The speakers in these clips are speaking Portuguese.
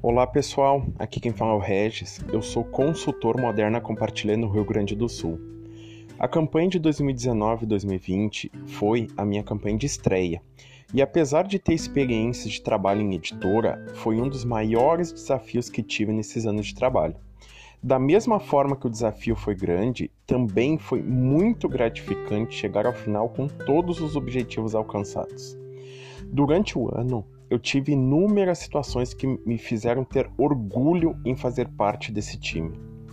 Olá pessoal, aqui quem fala é o Regis, eu sou consultor Moderna Compartilhei no Rio Grande do Sul. A campanha de 2019 e 2020 foi a minha campanha de estreia, e apesar de ter experiência de trabalho em editora, foi um dos maiores desafios que tive nesses anos de trabalho. Da mesma forma que o desafio foi grande, também foi muito gratificante chegar ao final com todos os objetivos alcançados. Durante o ano, eu tive inúmeras situações que me fizeram ter orgulho em fazer parte desse time.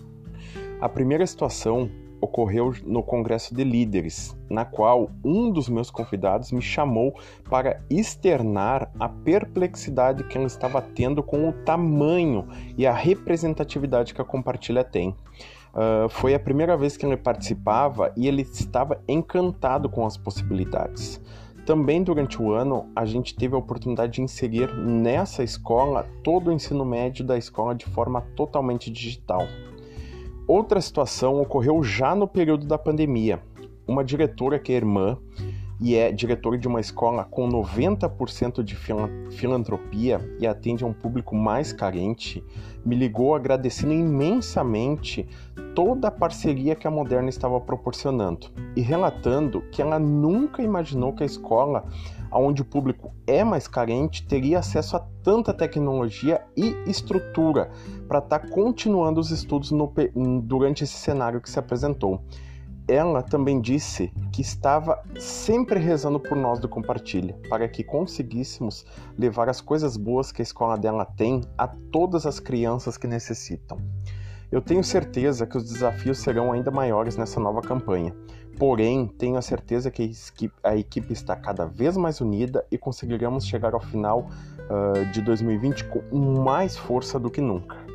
A primeira situação ocorreu no Congresso de Líderes, na qual um dos meus convidados me chamou para externar a perplexidade que ela estava tendo com o tamanho e a representatividade que a Compartilha tem. Foi a primeira vez que ele participava e ele estava encantado com as possibilidades. Também durante o ano, a gente teve a oportunidade de inserir nessa escola todo o ensino médio da escola de forma totalmente digital. Outra situação ocorreu já no período da pandemia. Uma diretora que é irmã e é diretora de uma escola com 90% de filantropia e atende a um público mais carente, me ligou agradecendo imensamente toda a parceria que a Moderna estava proporcionando e relatando que ela nunca imaginou que a escola, onde o público é mais carente, teria acesso a tanta tecnologia e estrutura para estar continuando os estudos durante esse cenário que se apresentou. Ela também disse que estava sempre rezando por nós do Compartilha, para que conseguíssemos levar as coisas boas que a escola dela tem a todas as crianças que necessitam. Eu tenho certeza que os desafios serão ainda maiores nessa nova campanha, porém tenho a certeza que a equipe está cada vez mais unida e conseguiremos chegar ao final de 2020 com mais força do que nunca.